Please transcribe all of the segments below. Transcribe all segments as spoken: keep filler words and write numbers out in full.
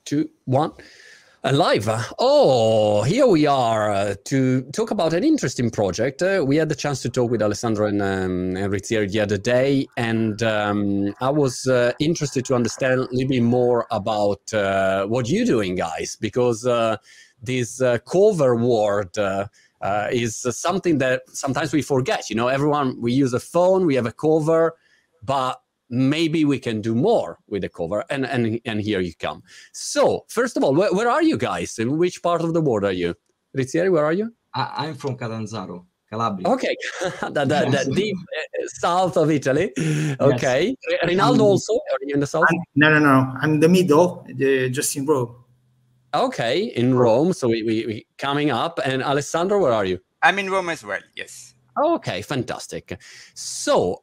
two, one. Live. Oh, here we are uh, to talk about an interesting project. Uh, we had the chance to talk with Alessandro and um, Rizzieri the other day, and um, I was uh, interested to understand a little bit more about uh, what you're doing, guys, because uh, this uh, cover word uh, uh, is something that sometimes we forget. You know, everyone, we use a phone, we have a cover, but maybe we can do more with the cover, and and and here you come. So first of all, where, where are you guys? In which part of the world are you? Rizzieri, where are you? I, I'm from Catanzaro, Calabria. Okay, that, that, that deep uh, south of Italy. Okay, yes. Rinaldo also, are you in the south? I'm, no, no, no. I'm in the middle, the, just in Rome. Okay, in Rome. So we, we we coming up. And Alessandro, where are you? I'm in Rome as well. Yes. Okay, fantastic. So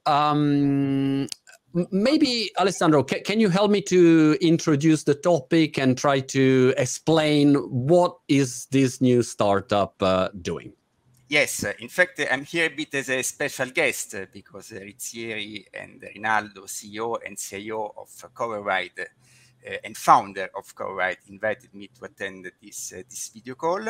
um. Maybe, Alessandro, ca- can you help me to introduce the topic and try to explain what is this new startup uh, doing? Yes, uh, in fact, uh, I'm here a bit as a special guest uh, because uh, Rizzieri and Rinaldo, C E O and C I O of uh, CoverRide uh, and founder of CoverRide, invited me to attend this, uh, this video call.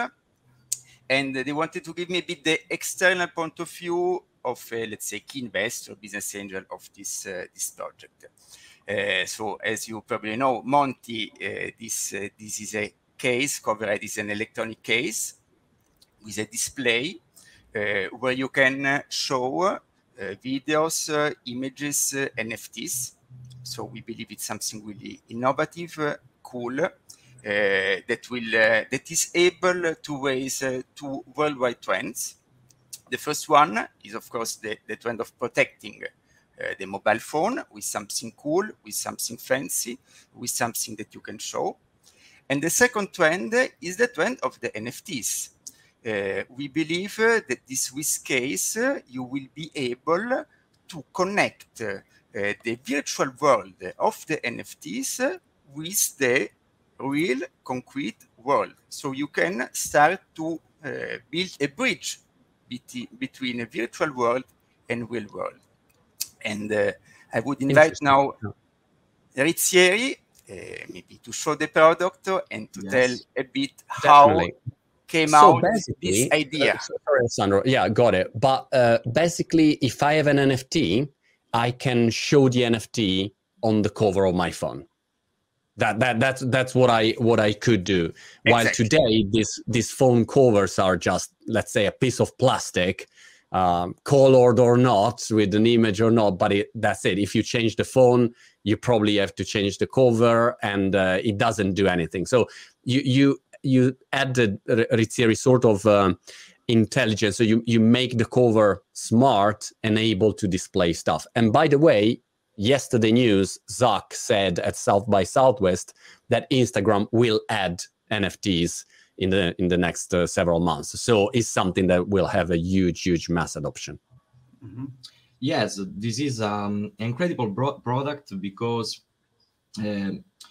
And uh, they wanted to give me a bit the external point of view of, uh, let's say, key investor, business angel of this uh, this project. Uh, so, as you probably know, Monty, uh, this uh, this is a case. CoverRide is an electronic case with a display uh, where you can uh, show uh, videos, uh, images, uh, N F Ts. So we believe it's something really innovative, uh, cool, uh, that will uh, that is able to raise uh, two worldwide trends. The first one is, of course, the, the trend of protecting uh, the mobile phone with something cool, with something fancy, with something that you can show. And the second trend is the trend of the N F Ts. Uh, we believe uh, that this with case, uh, you will be able to connect uh, the virtual world of the N F Ts with the real concrete world. So you can start to uh, build a bridge between a virtual world and real world. And uh, I would invite now Rizzieri uh, maybe to show the product and to yes. tell a bit Definitely. how came so out this idea. Uh, sorry, Sandro. Yeah, got it. But uh, basically, if I have an N F T, I can show the N F T on the cover of my phone. That that that's that's what I what I could do. While exactly. today, this these phone covers are just, let's say, a piece of plastic, um, colored or not, with an image or not. But it, that's it. If you change the phone, you probably have to change the cover, and uh, it doesn't do anything. So you you you added Rizzieri sort of um, intelligence. So you you make the cover smart and able to display stuff. And by the way, yesterday news, Zuck said at South by Southwest that Instagram will add N F Ts in the in the next uh, several months. So it's something that will have a huge, huge mass adoption. Mm-hmm. Yes, this is um, an incredible bro- product because uh,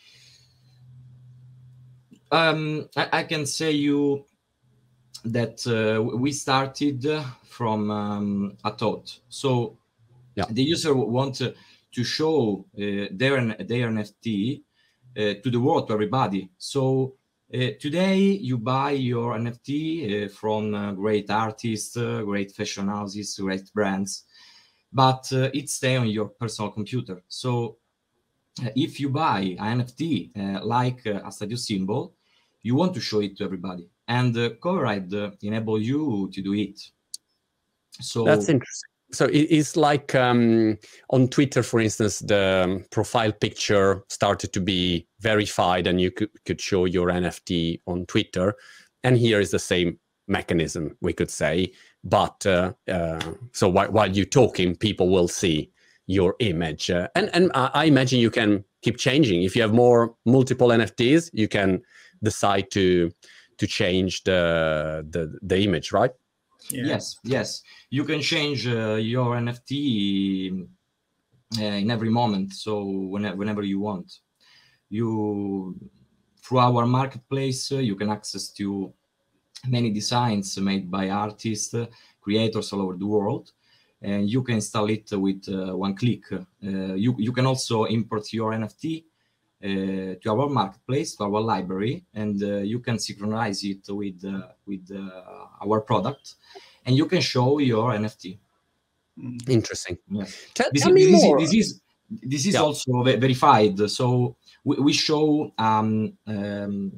um, I, I can say you that uh, we started from um, a thought. So yeah. the user wants to to show uh, their, their N F T uh, to the world, to everybody. So uh, today you buy your N F T uh, from uh, great artists, uh, great fashion houses, great brands, but uh, it stays on your personal computer. So uh, if you buy an N F T uh, like uh, a status symbol, you want to show it to everybody. And uh, CoverRide uh, enable you to do it. So that's interesting. So it's like um, on Twitter, for instance, the profile picture started to be verified and you could, could show your N F T on Twitter. And here is the same mechanism, we could say. But uh, uh, so while, while you're talking, people will see your image. Uh, and and I imagine you can keep changing. If you have more multiple N F Ts, you can decide to to change the the, the image, right? Yeah. Yes, yes. You can change uh, your N F T uh, in every moment. So whenever, whenever you want, you through our marketplace, uh, you can access to many designs made by artists, uh, creators all over the world, and you can install it with uh, one click. Uh, you you can also import your N F T uh, to our marketplace, to our library, and uh, you can synchronize it with uh, with uh, our product, and you can show your N F T. Interesting. Yes. Tell, this, tell is, me this, more. Is, this is this is Yeah. also ve- verified. So we, we show um, um,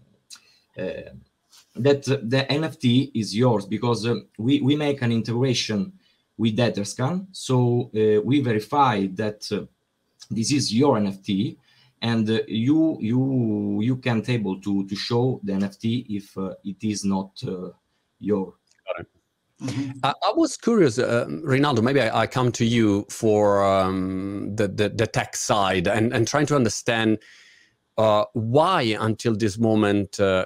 uh, that the N F T is yours because uh, we we make an integration with Etherscan. So uh, we verify that uh, this is your N F T, and uh, you you you can't able to to show the N F T if uh, it is not uh, your. Got it. Mm-hmm. I, I was curious, uh, Rinaldo, maybe I, I come to you for um, the, the the tech side and, and trying to understand uh, why until this moment uh,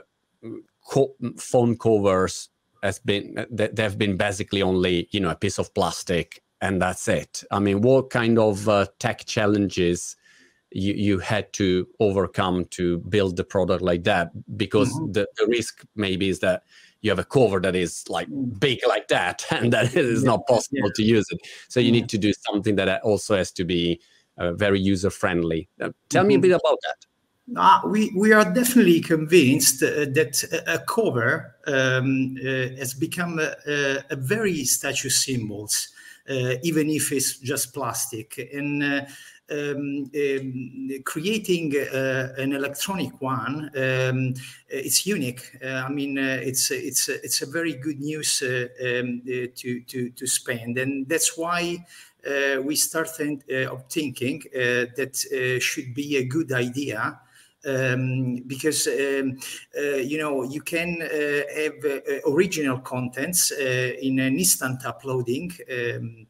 co phone covers has been, they, they've been basically only, you know, a piece of plastic and that's it. I mean, what kind of uh, tech challenges you, you had to overcome to build the product like that? Because mm-hmm. the, the risk maybe is that you have a cover that is like big like that, and that it is yeah. not possible yeah. to use it. So you yeah. need to do something that also has to be uh, very user friendly. Uh, tell mm-hmm. me a bit about that. Uh, we, we are definitely convinced uh, that a, a cover um, uh, has become a, a, a very status symbols, uh, even if it's just plastic. And uh, um, um, creating uh, an electronic one, um, it's unique. Uh, I mean, uh, it's it's it's a very good news uh, um, uh, to to to spend, and that's why. Uh, we started uh, of thinking uh, that uh, should be a good idea. Um, because um, uh, you know you can uh, have uh, original contents uh, in an instant uploading, um,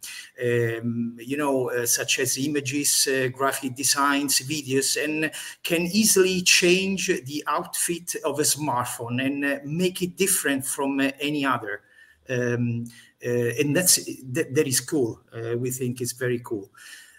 um, you know, uh, such as images, uh, graphic designs, videos, and can easily change the outfit of a smartphone and uh, make it different from uh, any other. Um, uh, and that's that, that is cool. Uh, we think it's very cool.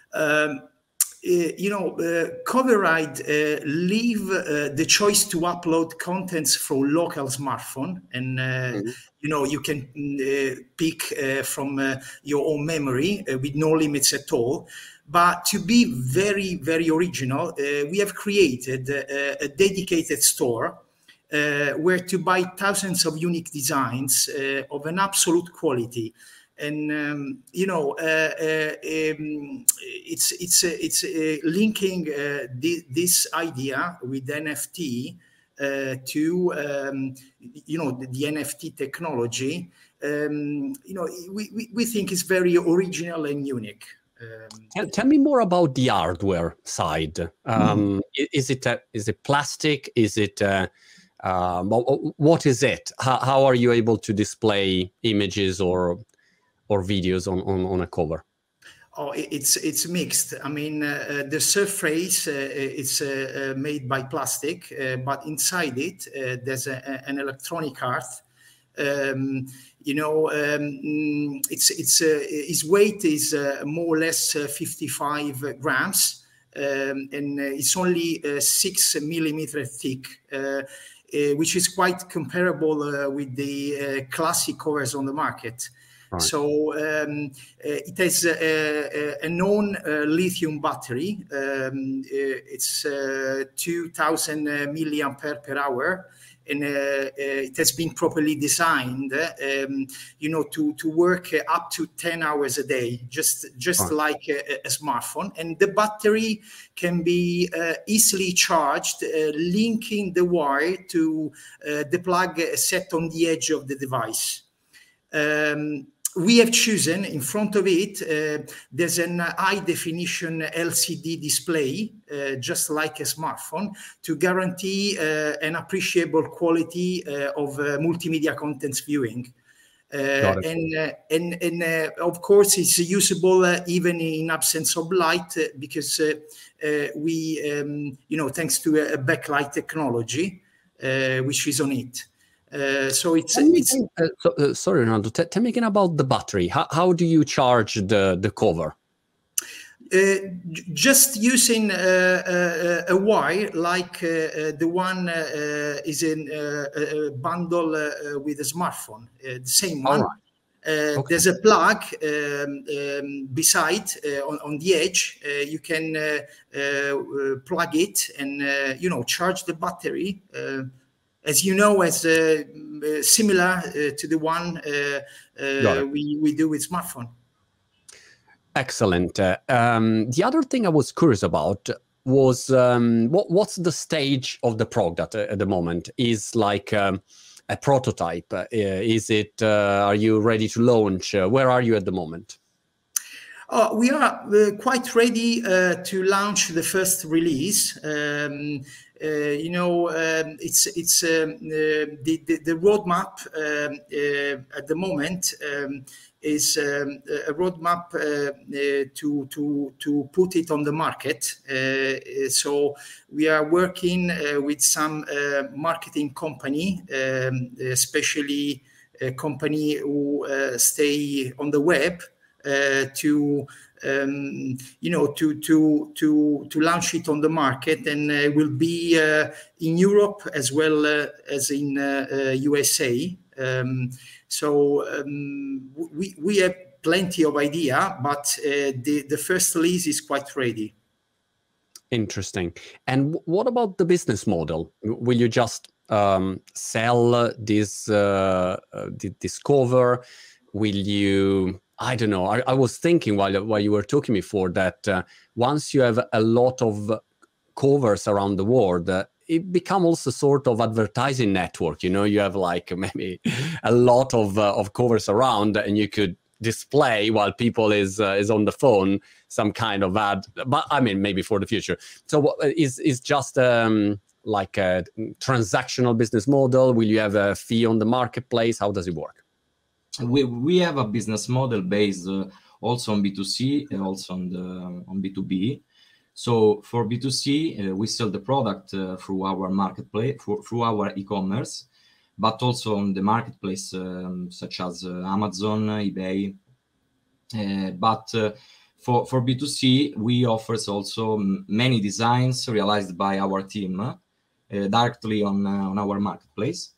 Um, Uh, you know, uh, Coverride uh, leave uh, the choice to upload contents from local smartphone, and uh, mm-hmm. you know you can uh, pick uh, from uh, your own memory uh, with no limits at all. But to be very, very original, uh, we have created uh, a dedicated store uh, where to buy thousands of unique designs uh, of an absolute quality. And um, you know, uh, uh, um, it's it's uh, it's uh, linking uh, th this idea with N F T uh, to um, you know the, the N F T technology. Um, you know, we, we we think it's very original and unique. Um, tell, tell me more about the hardware side. Um, mm. Is it a, is it plastic? Is it uh, um, what is it? How, how are you able to display images or or videos on, on, on a cover? Oh, it's it's mixed. I mean, uh, the surface uh, it's uh, made by plastic, uh, but inside it uh, there's a, an electronic art. Um, you know, um, it's it's uh, his weight is uh, more or less uh, fifty-five grams, um, and uh, it's only uh, six millimeter thick. Uh, uh, which is quite comparable uh, with the uh, classic covers on the market. Right. So um, uh, it has a, a, a known uh, lithium battery. Um, uh, it's uh, two thousand uh, milliampere per hour, and uh, uh, it has been properly designed, um, you know, to to work uh, up to ten hours a day, just just right. like a, a smartphone. And the battery can be uh, easily charged, uh, linking the wire to uh, the plug set on the edge of the device. Um, We have chosen in front of it, uh, there's an high definition L C D display, uh, just like a smartphone, to guarantee uh, an appreciable quality uh, of uh, multimedia contents viewing. Uh, and, uh, and, and uh, of course, it's usable uh, even in absence of light uh, because uh, uh, we, um, you know, thanks to a backlight technology, uh, which is on it. Uh, so it's, it's uh, so, uh, sorry, Ronaldo, tell me again about the battery. How, how do you charge the, the cover? Uh, just using uh, uh, a wire like uh, uh, the one uh, is in uh, a bundle uh, with a smartphone, uh, the same one. All right. Uh, okay. There's a plug um, um, beside uh, on, on the edge. Uh, you can uh, uh, plug it and uh, you know charge the battery. Uh, as you know, as uh, similar uh, to the one uh, uh, we we do with smartphone. Excellent. Uh, um, the other thing I was curious about was um, what what's the stage of the product at, at the moment? Is like um, a prototype? Uh, is it? Uh, are you ready to launch? Uh, where are you at the moment? Oh, we are uh, quite ready uh, to launch the first release. Um, uh, you know, um, it's it's um, uh, the, the the roadmap um, uh, at the moment um, is um, a roadmap uh, uh, to to to put it on the market. Uh, so we are working uh, with some uh, marketing company, um, especially a company who uh, stay on the web. Uh, to um, you know to to to to launch it on the market, and uh, will be uh, in Europe as well uh, as in uh, uh, U S A. Um, so um, we we have plenty of idea, but uh, the the first release is quite ready. Interesting. And what about the business model? Will you just um, sell this uh, uh, this cover? Will you? I don't know. I, I was thinking while while you were talking before that uh, once you have a lot of covers around the world, uh, it becomes also sort of advertising network. You know, you have like maybe a lot of uh, of covers around, and you could display while people is uh, is on the phone some kind of ad. But I mean, maybe for the future. So what is is just um, like a transactional business model? Will you have a fee on the marketplace? How does it work? We we have a business model based uh, also on B two C and also on the on B two B. So for B two C, uh, we sell the product uh, through our marketplace, for, through our e-commerce, but also on the marketplace um, such as uh, Amazon, eBay. Uh, but uh, for for B two C, we offer also many designs realized by our team uh, directly on uh, on our marketplace.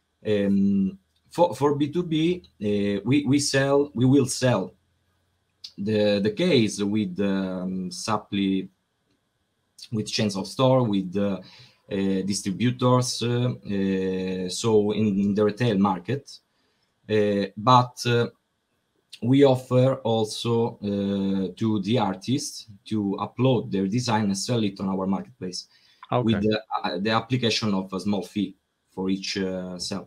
Um, For, for B two B, uh, we, we sell, we will sell the, the case with um, supply, with chains of store, with uh, uh, distributors, uh, uh, so in, in the retail market. Uh, but uh, we offer also uh, to the artists to upload their design and sell it on our marketplace okay. with the, uh, the application of a small fee for each uh, sell.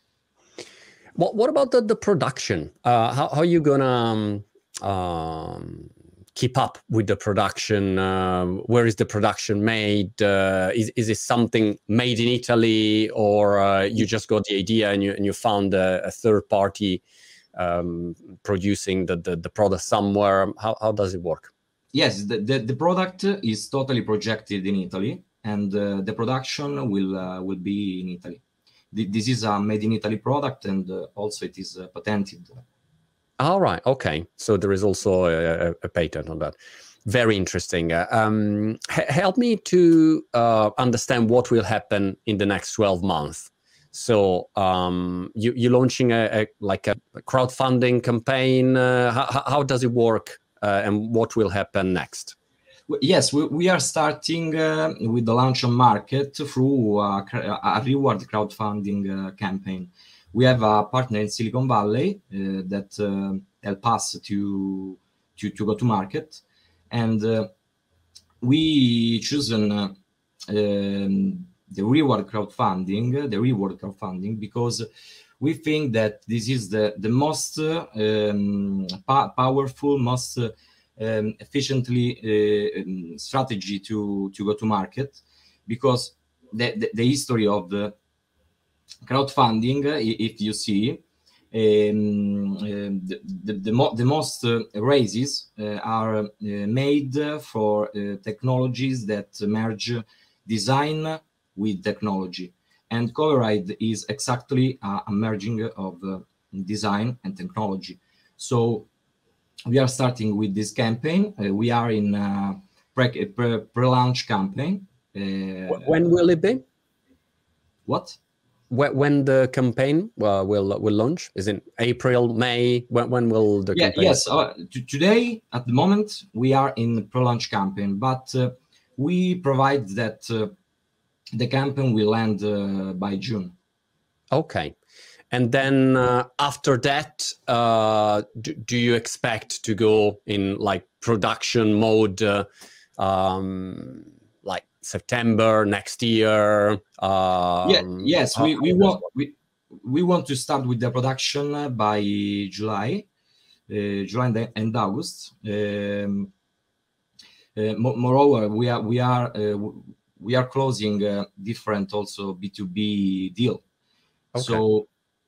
What What about the, the production? Uh, how, how are you gonna um, um, keep up with the production? Uh, where is the production made? Uh, is is it something made in Italy, or uh, you just got the idea and you and you found a, a third party um, producing the, the the product somewhere? How how does it work? Yes, the the, the product is totally projected in Italy, and uh, the production will uh, will be in Italy. This is a made in Italy product, and uh, also it is uh, patented. All right. Okay. So there is also a, a patent on that. Very interesting. Uh, um, help me to uh, understand what will happen in the next twelve months. So um, you, you're launching a, a like a crowdfunding campaign. Uh, how, how does it work, uh, and what will happen next? Yes, we, we are starting uh, with the launch on market through a, a reward crowdfunding uh, campaign. We have a partner in Silicon Valley uh, that uh, help us to, to to go to market, and uh, we chosen uh, um, the reward crowdfunding, the reward crowdfunding, because we think that this is the the most uh, um, pa powerful, most uh, Um, efficiently uh, strategy to to go to market, because the, the, the history of the crowdfunding, uh, if you see, um, uh, the, the, the, mo the most uh, raises uh, are uh, made for uh, technologies that merge design with technology, and Coveride is exactly a, a merging of uh, design and technology. So we are starting with this campaign. Uh, we are in uh, pre, pre, pre-launch campaign. Uh, when will it be? What? wh- when the campaign uh, will will launch? Is it April, May? When, when will the yeah, campaign? Yes, uh, t- today at the moment we are in pre-launch campaign, but uh, we provide that uh, the campaign will end uh, by June. Okay. And then uh, after that, uh, do, do you expect to go in like production mode, uh, um, like September next year? Um, yeah, yes, we, we want we, we want to start with the production uh, by July, uh, July and, and August. Um, uh, mo- moreover, we are we are uh, we are closing uh, different also B two B deal. Okay. So.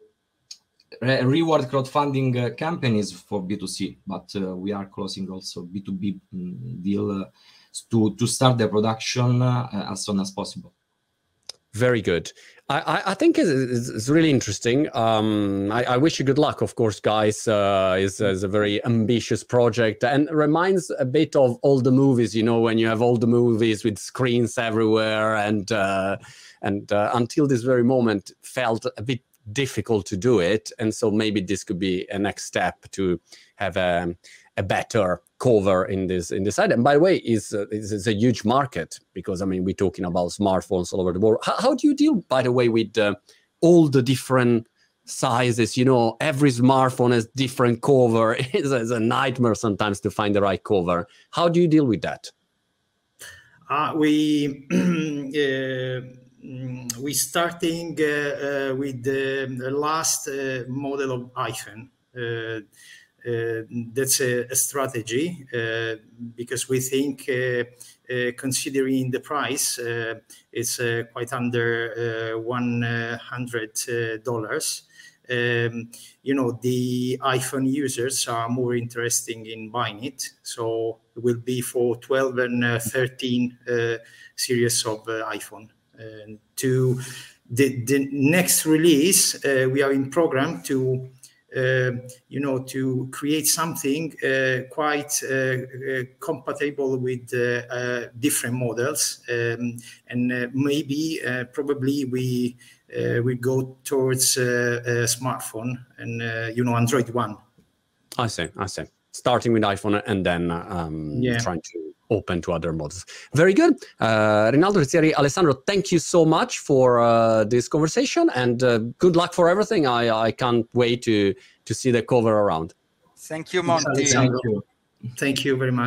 Reward crowdfunding uh, campaign is for B two C, but uh, we are closing also B two B um, deal uh, to, to start the production uh, as soon as possible. Very good. I, I think it's, it's really interesting. Um, I, I wish you good luck, of course, guys. Uh, it's, it's a very ambitious project and reminds a bit of all the movies, you know, when you have all the movies with screens everywhere and, uh, and uh, until this very moment felt a bit difficult to do it, and so maybe this could be a next step to have a, a better cover in this in this item. By the way, is is a huge market because I mean we're talking about smartphones all over the world. How, how do you deal, by the way, with uh, all the different sizes? You know, every smartphone has different cover. It's, it's a nightmare sometimes to find the right cover. How do you deal with that? Uh, we. uh, we starting uh, uh, with the, the last uh, model of iPhone. Uh, uh, that's a, a strategy uh, because we think, uh, uh, considering the price, uh, it's uh, quite under uh, one hundred dollars. Um, you know, the iPhone users are more interested in buying it, so it will be for twelve and uh, thirteen uh, series of uh, iPhone. And to the, the next release, uh, we are in program to, uh, you know, to create something uh, quite uh, uh, compatible with uh, uh, different models, um, and uh, maybe uh, probably we uh, we go towards uh, a smartphone and uh, you know Android One. I see, I see. Starting with iPhone and then um, yeah. trying to open to other models. Very good. Uh, Rinaldo, Rizzieri, Alessandro, thank you so much for uh, this conversation and uh, good luck for everything. I, I can't wait to, to see the cover around. Thank you, Monty. Thank you. Thank you very much.